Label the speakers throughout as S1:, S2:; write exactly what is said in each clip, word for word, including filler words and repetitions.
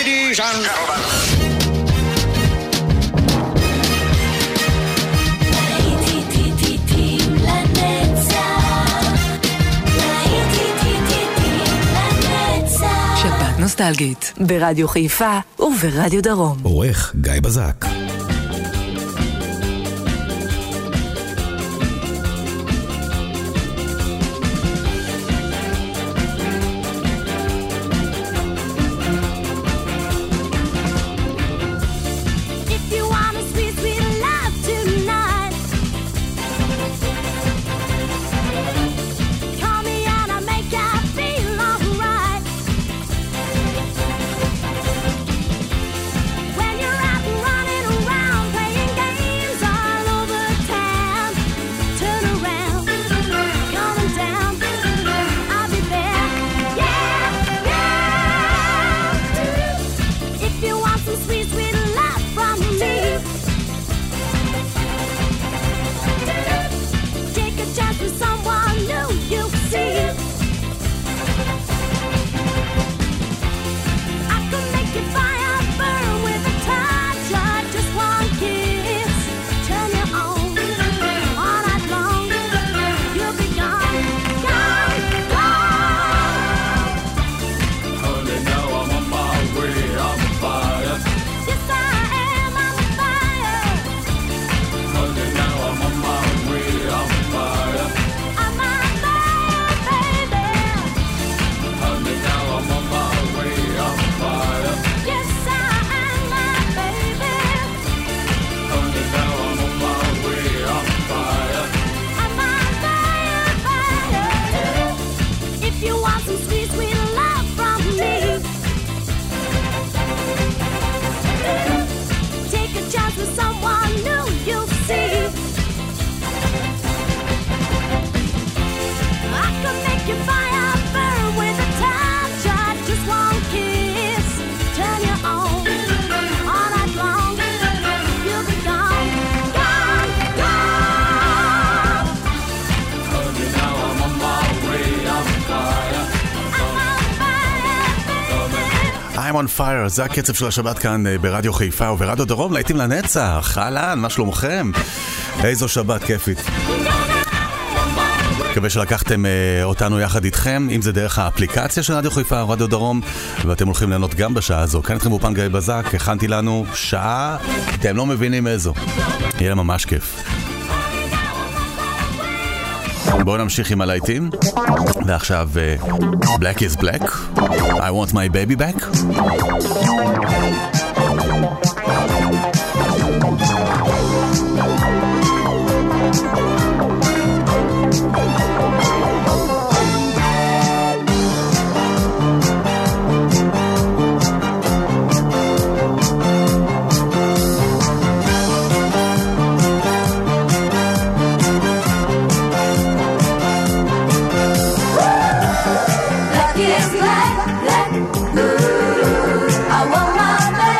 S1: Ladies and gentlemen.
S2: שבת נוסטלגית ברדיו חיפה וברדיו דרום.
S3: עורך גיא בזק.
S4: on fire, זה הקצב של השבת כאן ברדיו חיפה וברדיו דרום, להיטים לנצח. אהלן, מה שלומכם? איזו שבת כיפית. מקווה שלקחתם אותנו יחד איתכם, אם זה דרך האפליקציה של רדיו חיפה או רדיו דרום, ואתם הולכים ליהנות גם בשעה הזו. כאן אתכם באופן גיא בזק, הכנתי לנו שעה, אתם לא מבינים איזו. יהיה ממש כיף. בואו נמשיך עם הלהיטים. ועכשיו Black is Black, I want my baby back.
S5: Black is black, black, ooh, I want my baby.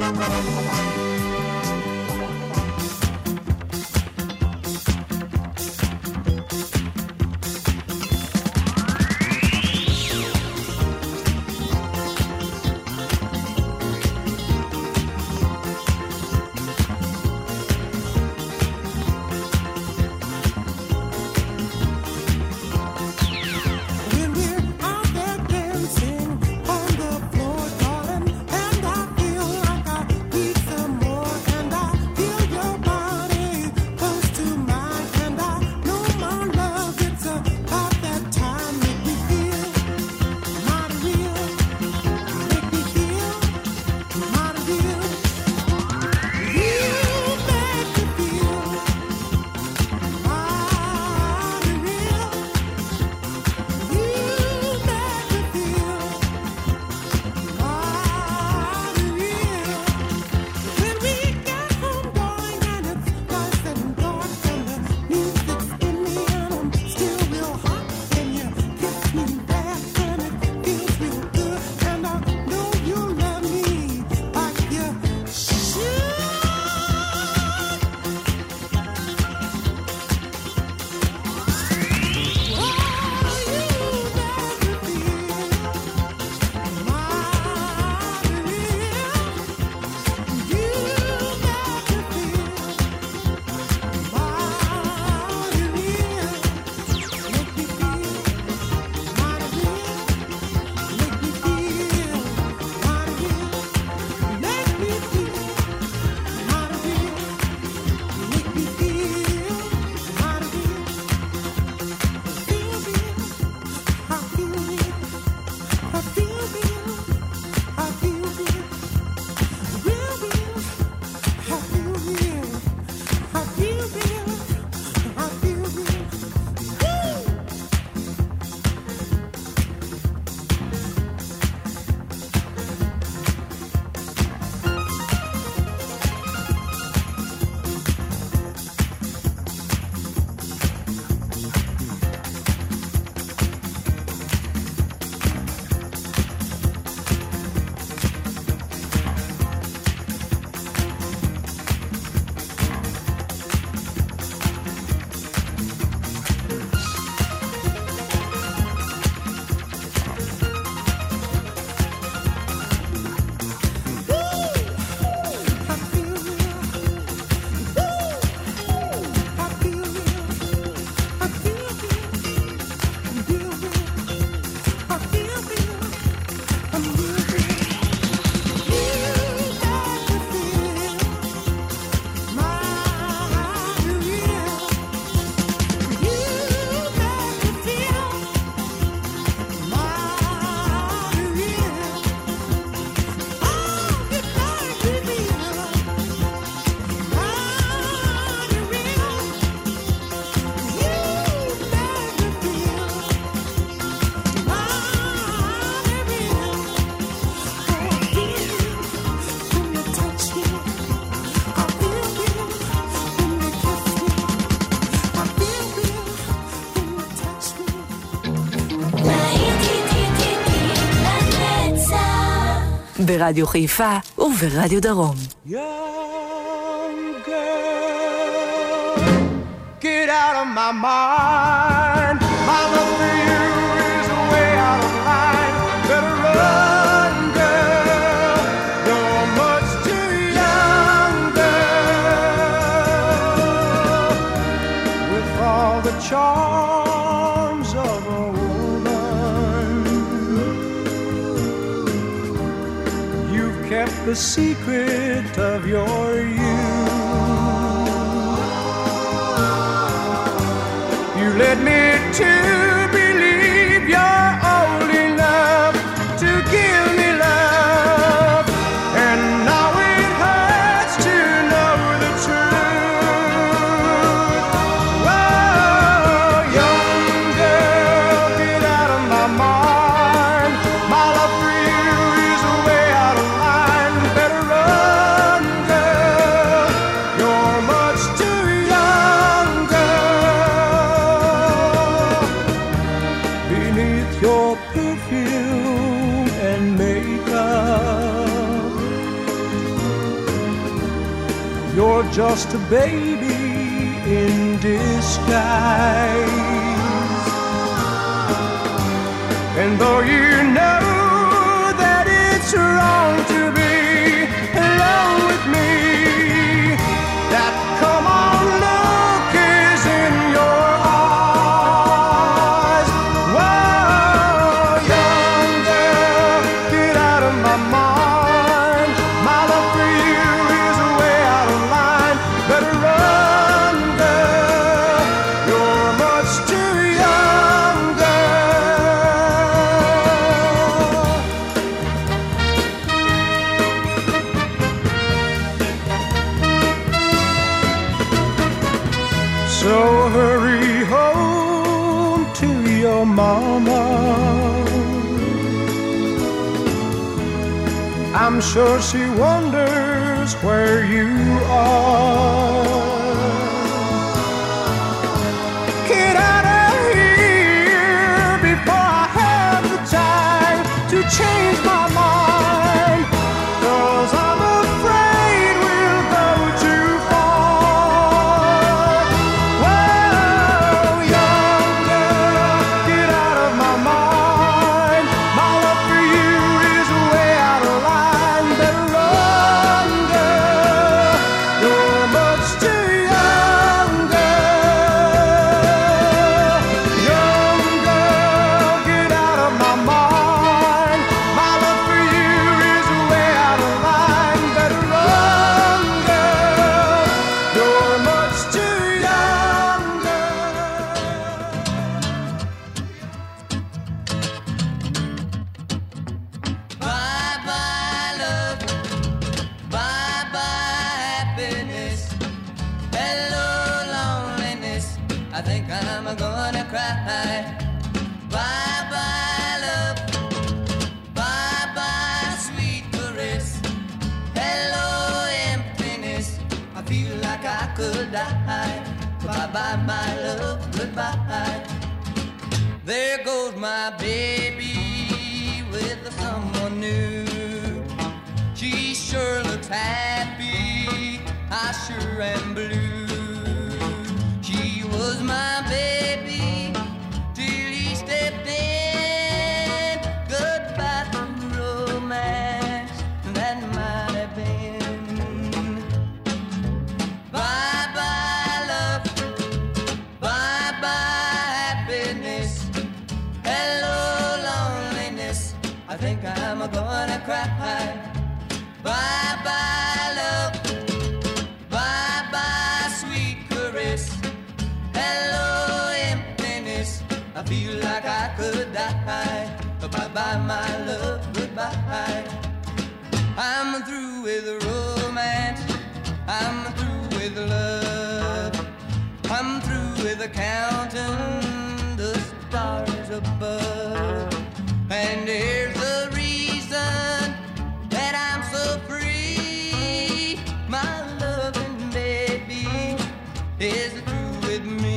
S2: ברדיו חיפה וברדיו דרום.
S1: Young girl, get out of my mind. My love for you is way out of line. Better run, girl, you're much too young, girl. With all the charms of a woman, you've kept the secret of your youth. You led me to believe you're old enough to give me love, and now it hurts to know the truth. Whoa, young girl, get out of my mind. My love for you is way out of line. Better run, girl, you're much too young, girl. you're just a baby in disguise. And though you know that it's wrong to be alone with me, that come on look is in your eyes. Whoa, young girl, get out of my mind. My love for you is way out of line. Better run, girl, you're much too young, girl. So hurry home to your mama. I'm sure she wonders where you are. Get out of here before I have the time to change my mind, 'cause I'm afraid we'll go too far. Whoa, young girl, get out of my mind. My love for you is way out of line. Better run, girl, you're much too young, girl. Young girl, get out of my mind. My love for you is way out of line. Better run, girl, you're much too young, girl.
S3: Bye bye love, bye bye happiness, hello loneliness, I think I'm gonna cry. Bye bye love, bye bye sweet caress, hello emptiness, I feel like I could die. Bye bye my love, goodbye. There goes my baby with someone new. She sure looks happy, I sure am blue. She was my baby till he stepped in. Goodbye to romance, that might have been. Bye bye love, bye bye happiness, hello loneliness, I think I'm gonna cry. Bye bye love, bye bye sweet caress, hello emptiness, I feel like I could die. Bye bye my love, goodbye. I'm through with romance, I'm through with love, I'm through with counting the stars above. And here's the reason that I'm so free. My loving baby is through with me.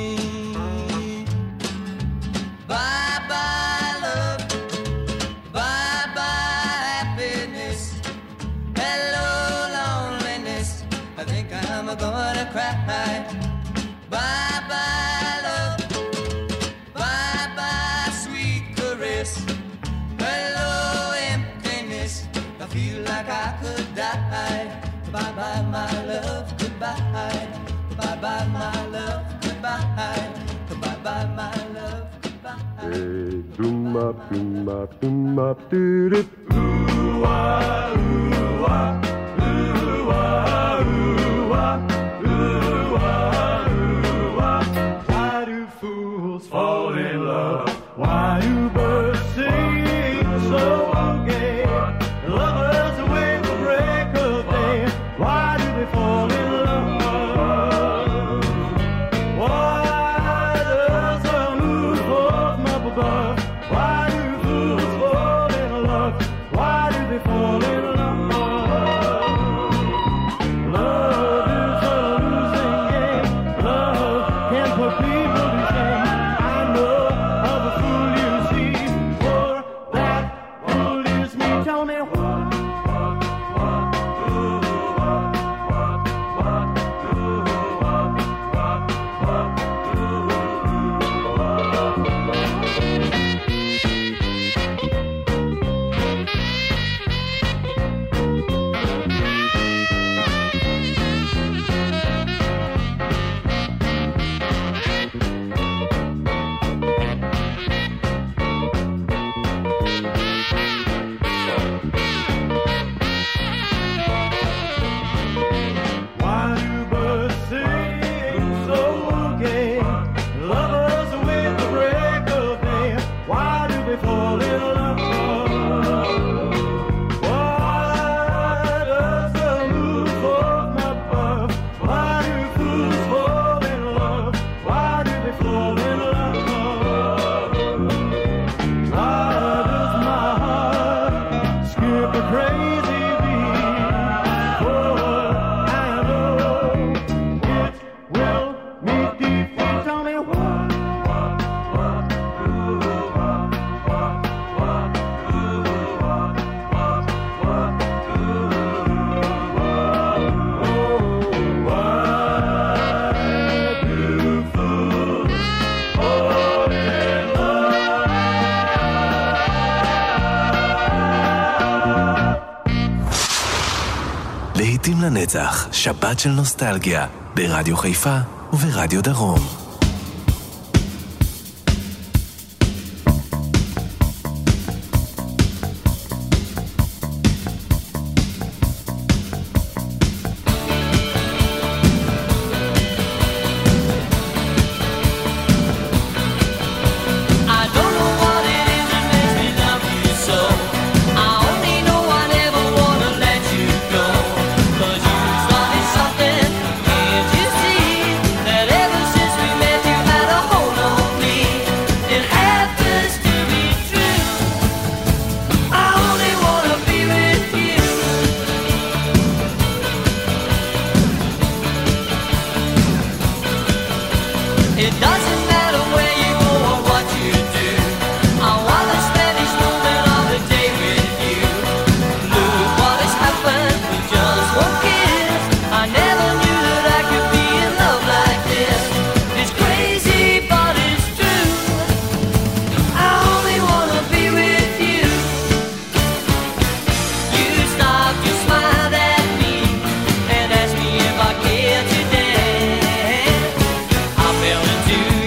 S3: Bye bye love, bye bye happiness, hello loneliness, I think I'm gonna cry. Bye bye love, bye bye sweet caress, hello emptiness, I feel like I could die. Bye bye my love, goodbye. Bye bye my love, goodbye. Bye bye my love, goodbye.
S5: Doom up, doom up, doom up, doo doo. Ooh ah, ooh ah, ooh ah, ooh ah, ooh ah, ooh ah. Why do fools fall in love? Why do birds sing so gay? Lovers wait for break of day. Why do they fall in love? Why does the moon fall up above? Why do fools fall in love? Why do they fall in love?
S6: לנצח, שבת של נוסטלגיה, ברדיו חיפה וברדיו דרום.
S3: I fell into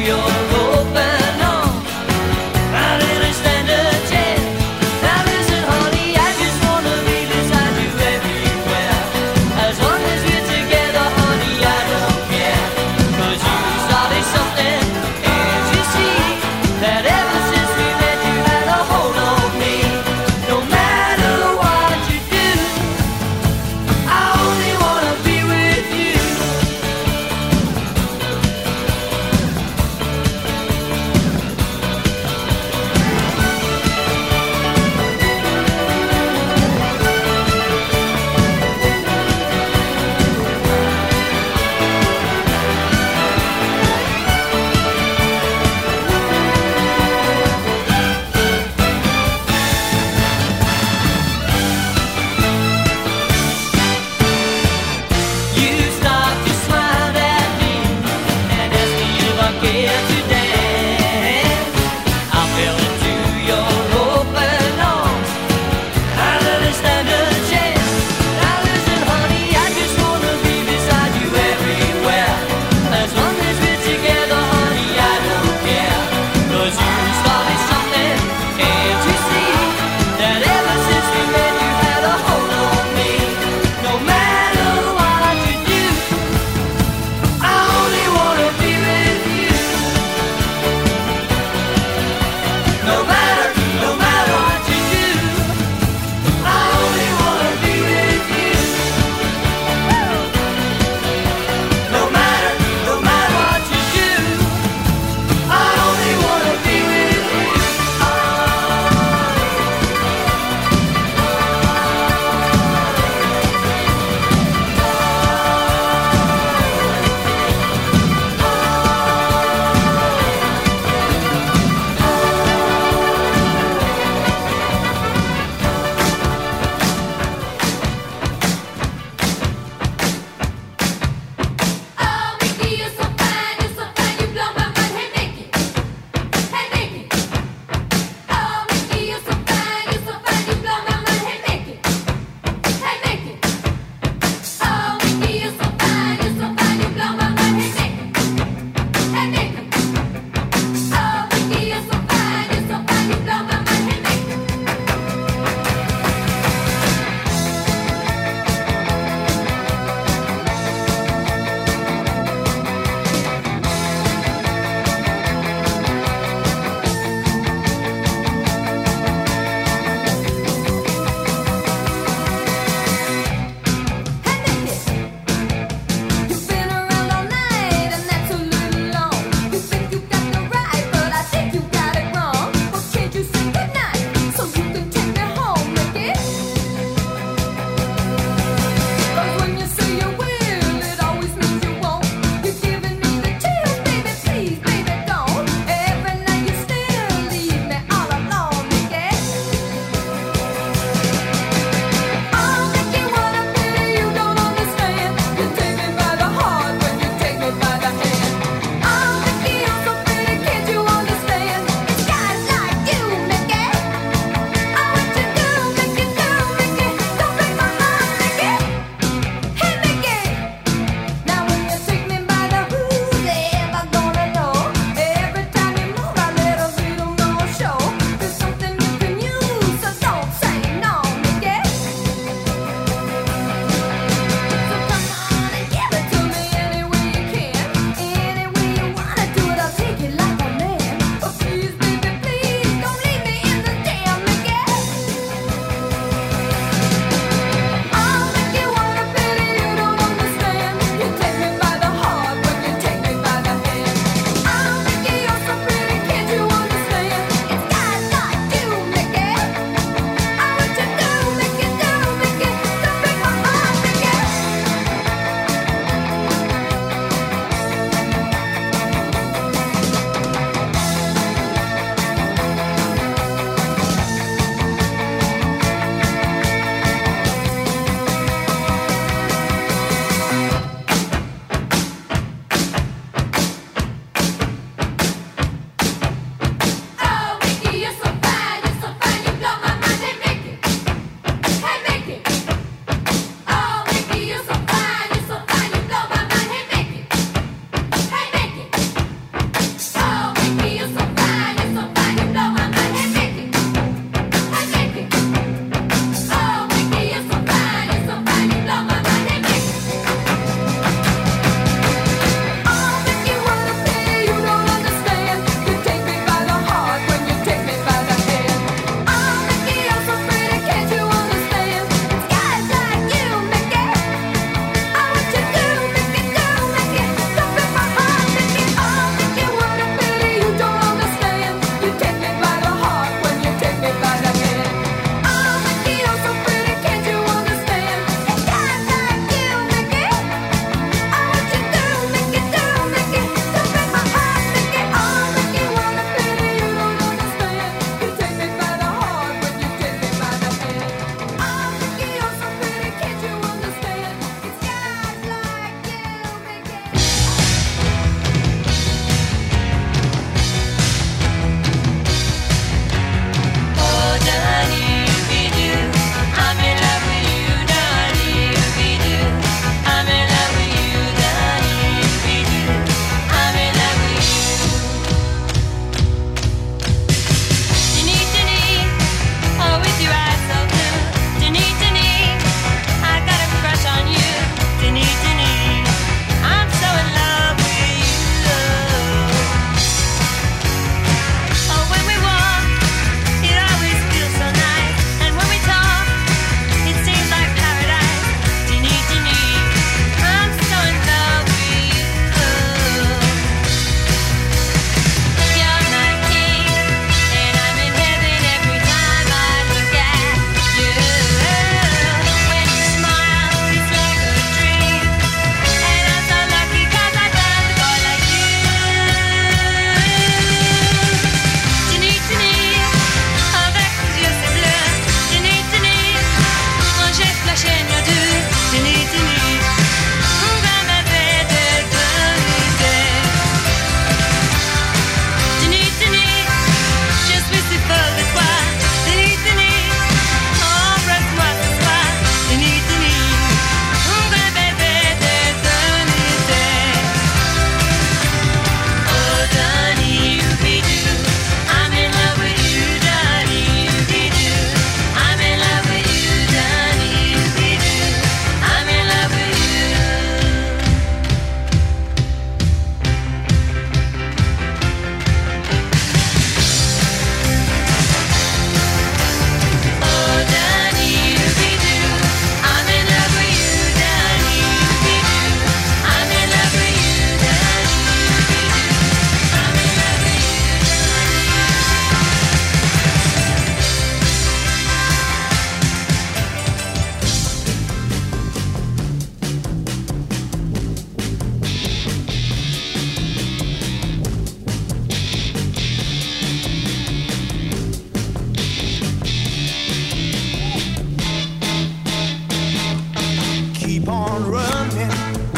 S1: running.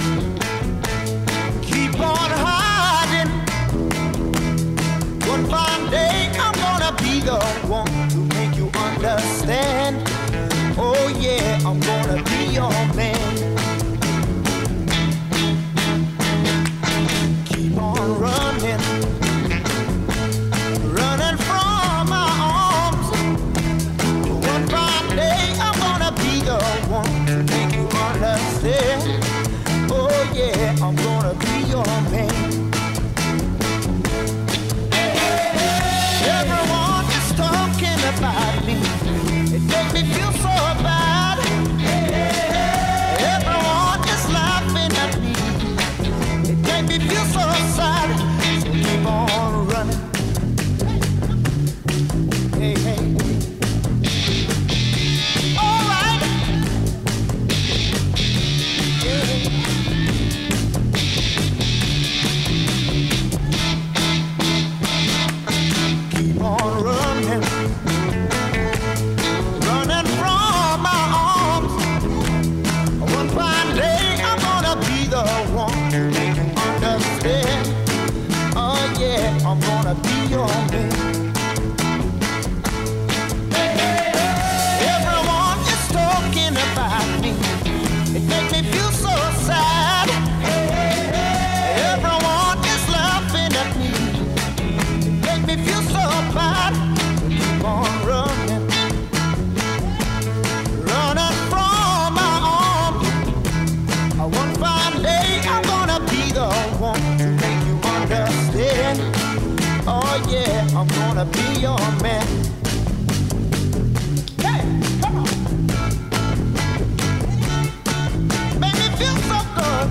S1: Keep on hiding. One fine day I'm gonna be the one to make you understand. Oh yeah, I'm gonna be your man. Keep on running. Running from my arms. One fine day I'm gonna be the one to make you understand. Oh yeah, I'm gonna be your man. Everyone is talking about me. It makes me feel so bad. Everyone is laughing at me. It makes me feel so sad. So keep on running. Hey, hey. All right. Yeah. Keep on running. Running from my arms. One fine day I'm gonna be the one to make you understand. Oh yeah, I'm gonna be your man. Everyone is talking about me. It makes me feel so sad. Everyone is laughing at me. It makes me feel so bad. Keep on running. Running from my arms. One fine day I'm gonna be the one to make you understand. Oh yeah, I'm gonna be your man. Hey, come on. Make me feel so good.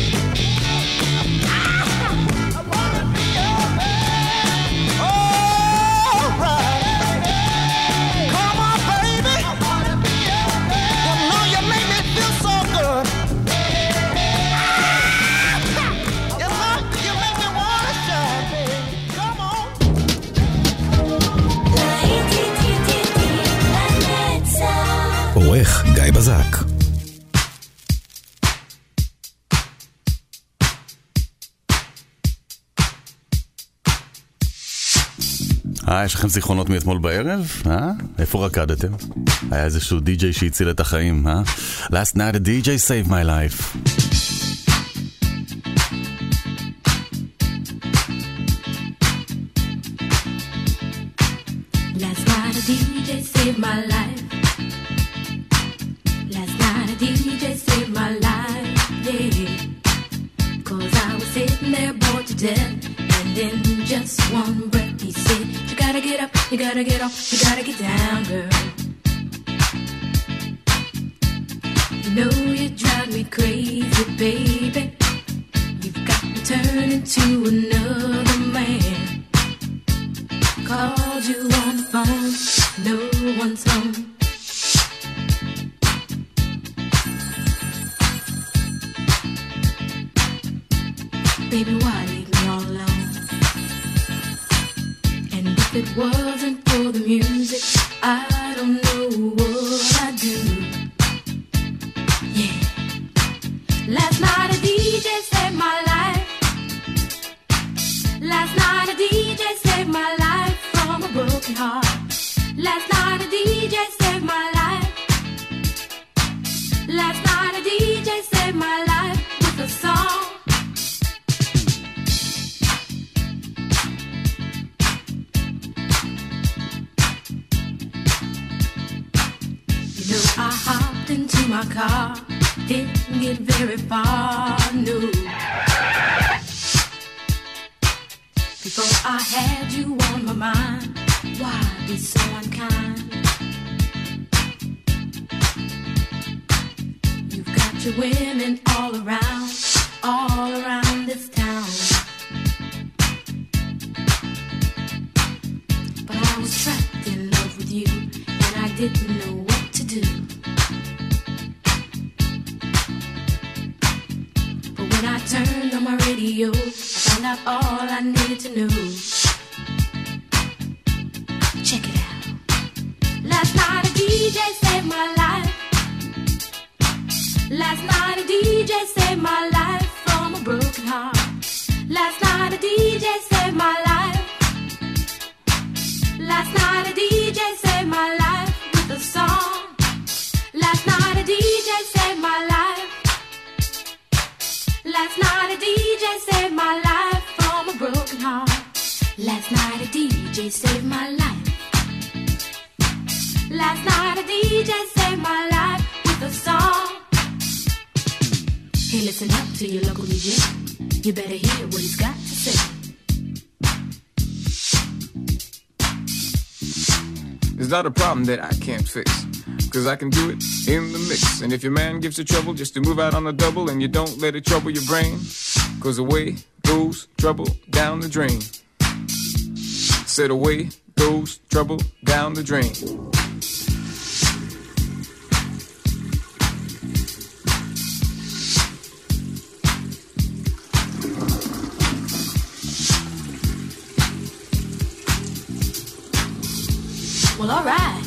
S1: Ah, I wanna be your man. All right. Come on, baby. I wanna be your man. You know you make me feel so good. Ah, you know you make me wanna shine, baby. Come on.
S6: עורך גיא בזק.
S4: אה, יש לכם זיכרונות מאתמול בערב? אה? איפה רקדתם? היה איזשהו די-ג'יי שהציל את החיים, אה? Last night a די ג'יי saved my life.
S7: Last night a D J saved my life. Last night a D J saved my life, yeah. Cause I was sitting there bored to death, and in just one breath he said, you gotta get up, you gotta get off, you gotta get down, girl. You know you drive me crazy, baby. You've got me turning to another man. Called you on the phone, no one's home. Baby, why leave me all alone? And if it wasn't for the music, I don't know what I'd do. Yeah. Last night a D J saved my life. Last night a D J saved my life from a broken heart. Last night a D J saved my life. Last night a D J saved my life with a song. You know I hopped into my car, didn't get very far, no. Before I had you on my mind, why be so unkind? You've got your women all around, all around this town. But I was trapped in love with you, and I didn't know what to do. But when I turned on my radio, I found out all I needed to know. Check it out. Last night a D J saved my life. Last night a D J saved my life from a broken heart. Last night a D J saved my life. Last night a D J saved my life with a song. Last night a D J saved my life. Last night a D J saved my life from a broken heart. Last night a D J saved my life. Last night a D J saved my life with a song. Hey, listen up to your local D J. You better hear what he's got to say.
S8: It's not a problem that I can't fix, cause I can do it in the mix. And if your man gives you trouble just to move out on the double, and you don't let it trouble your brain, cause away goes trouble down the drain. Said away goes trouble down the drain.
S7: Well, all right.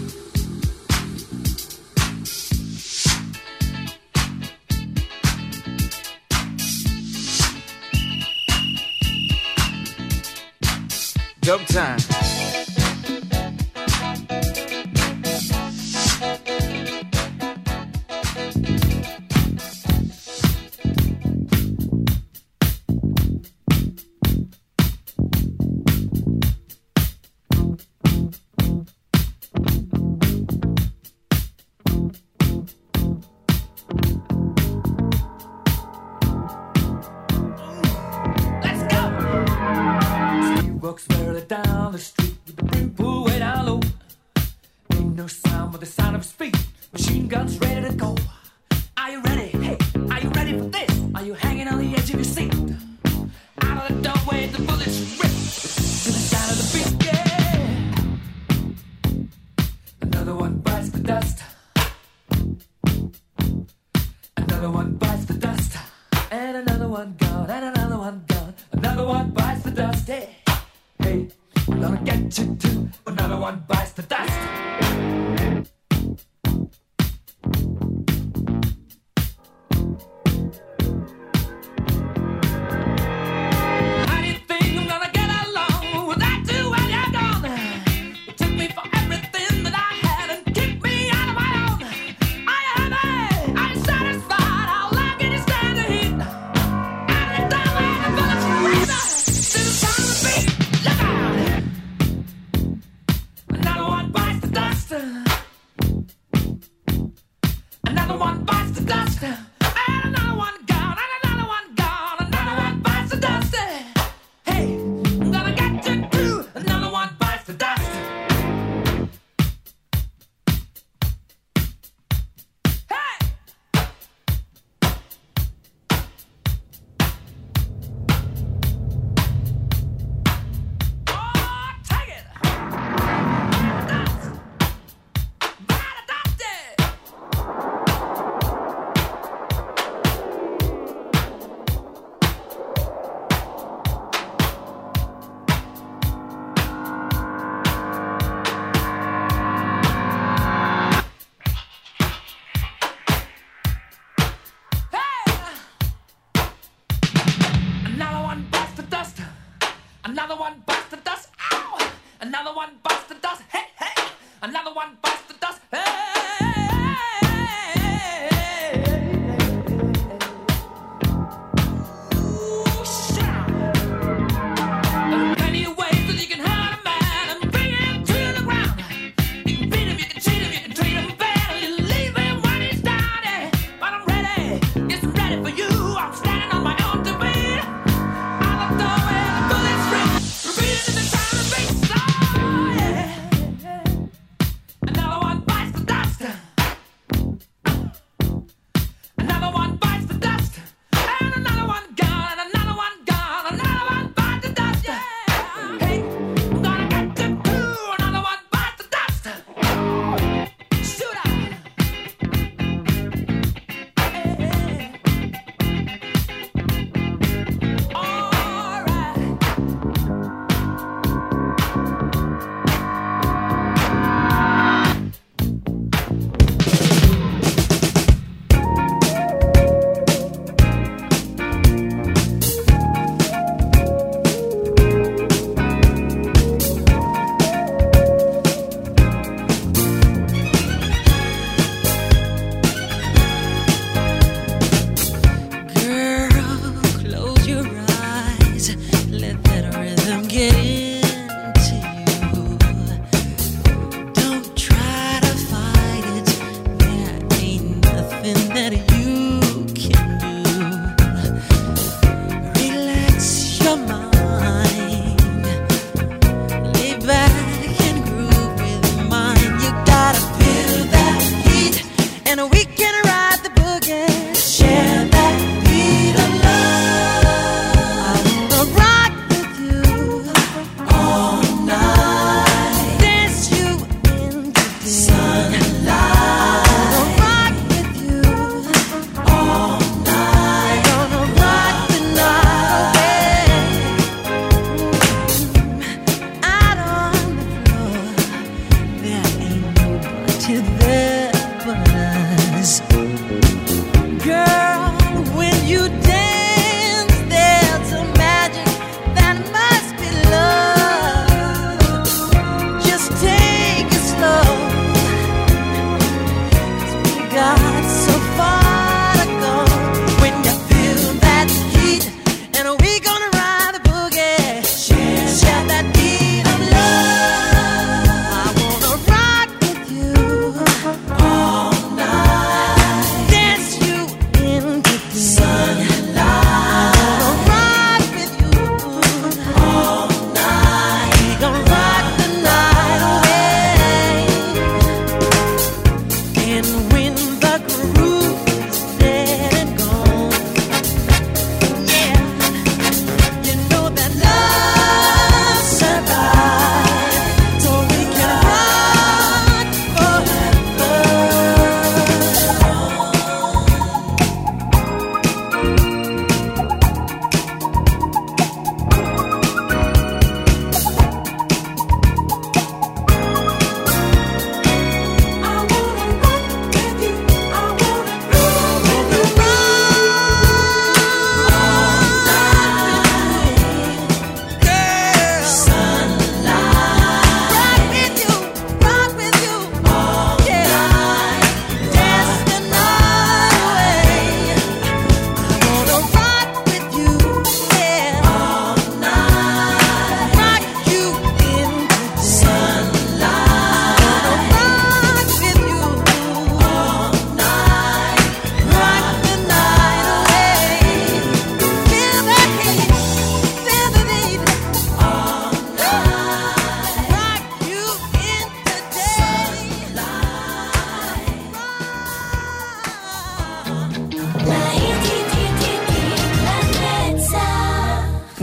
S8: Dub time.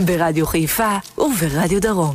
S2: ברדיו חיפה וברדיו דרום.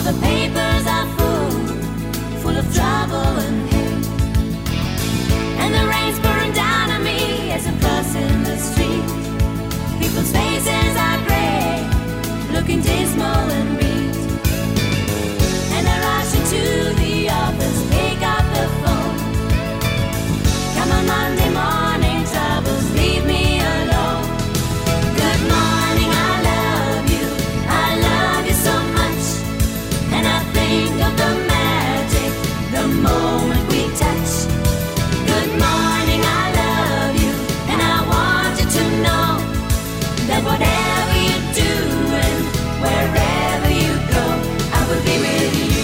S7: the papers are full, full of trouble and hate. And the rain's pouring down on me as I'm crossing the street. People's faces are grey, looking dismal and beat. And I rush into the office, pick up the phone. Come on Monday morning, troubles, leave me alone. Good morning, I love you, I love you so much. And I think of the magic, the moment we touch. Good morning, I love you, and I want you to know that whatever you do and wherever you go, I will be with you.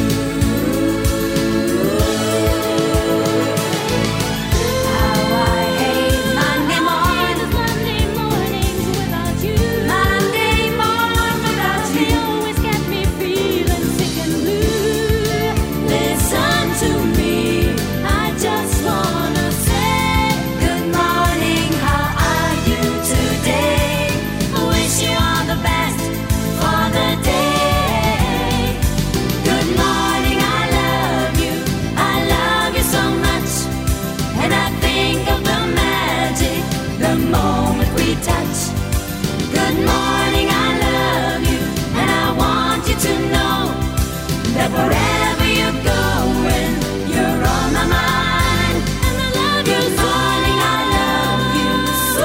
S7: How I hate Monday mornings, Monday mornings without you. Monday morning without you. They always get me feeling sick and blue. Listen to me, I just wanna say good morning, how are you today? I wish you all the best for the day. Good morning, I love you, I love you so much. And I think of the magic, the moment we touch. Good morning, I love you, and I want you to know that wherever you're going, you're on my mind. And I love you. Good morning, I love you so.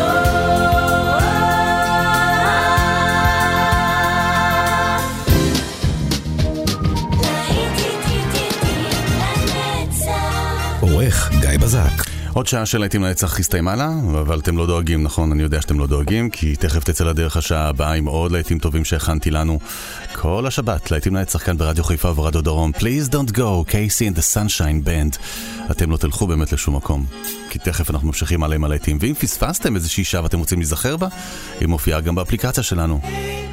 S6: עורך גיא בזק.
S4: עוד שעה של להיטים לנצח הסתיימה לה, אבל אתם לא דואגים, נכון? אני יודע שאתם לא דואגים, כי תכף תצא לדרך השעה הבאה עם עוד להיטים טובים שהכנתי לנו כל השבת. להיטים לנצח כאן ברדיו חיפה וברדיו דרום. Please don't go, קייסי and the Sunshine Band. אתם לא תלכו באמת לשום מקום, כי תכף אנחנו ממשיכים עליהם על להיטים. ואם פספסתם איזושהי שעה ואתם רוצים להיזכר בה, היא מופיעה גם באפליקציה שלנו.